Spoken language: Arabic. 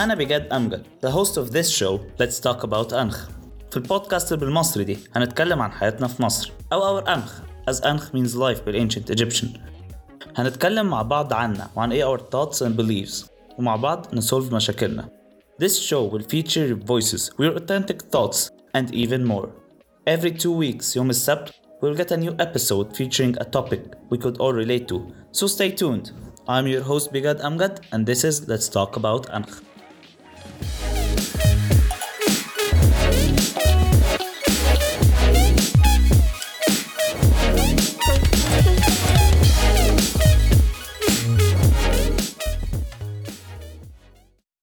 أنا بجد أمجد the host of this show Let's Talk About أنخ. في البودكاست بالمصري دي هنتكلم عن حياتنا في مصر أو our أنخ as أنخ means life بالancient Egyptian. هنتكلم مع بعض عننا وعن إيه our thoughts and beliefs ومع بعض نسولف مشاكلنا. This show will feature your voices, your authentic thoughts and even more. Every 2 weeks يوم السبت we'll get a new episode featuring a topic we could all relate to. So stay tuned. I'm your host Bigad Amgad and this is Let's Talk About Ankh.